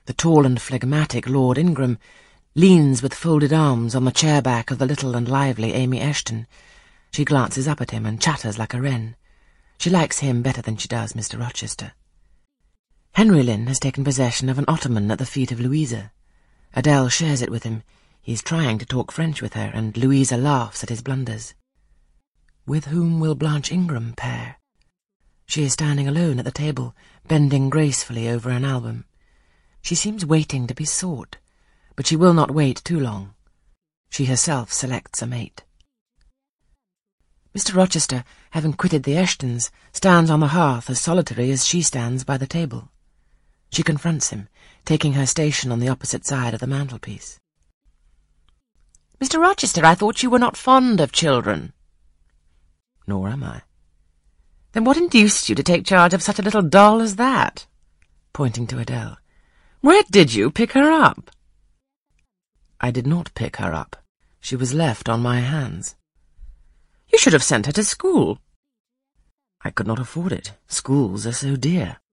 The tall and phlegmatic Lord Ingram leans with folded arms on the chair-back of the little and lively Amy Eshton. She glances up at him and chatters like a wren. She likes him better than she does Mr. Rochester. Henry Lynn has taken possession of an ottoman at the feet of Louisa. Adele shares it with him. He's trying to talk French with her, and Louisa laughs at his blunders. With whom will Blanche Ingram pair? She is standing alone at the table, bending gracefully over an album. She seems waiting to be sought, but she will not wait too long. She herself selects a mate. Mr. Rochester, having quitted the Eshtons, stands on the hearth as solitary as she stands by the table. She confronts him, taking her station on the opposite side of the mantelpiece. "Mr. Rochester, I thought you were not fond of children." "Nor am I." "Then what induced you to take charge of such a little doll as that?" Pointing to Adele. "Where did you pick her up?" "I did not pick her up. She was left on my hands." "You should have sent her to school." "I could not afford it. Schools are so dear."